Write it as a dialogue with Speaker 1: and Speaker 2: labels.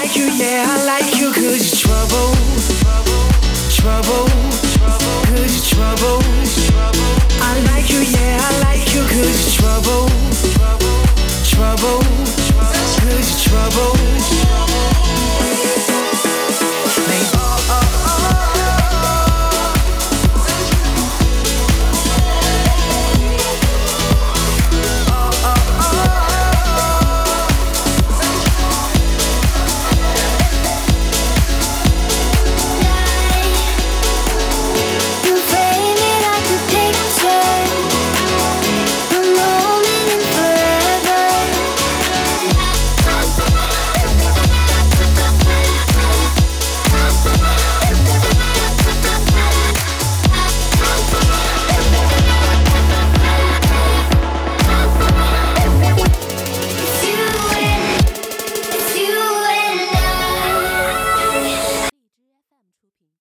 Speaker 1: like you, yeah, I like you, cause you're trouble. Trouble, cause you're trouble. I like you, yeah, I like you, cause you're trouble. Trouble, cause you're trouble.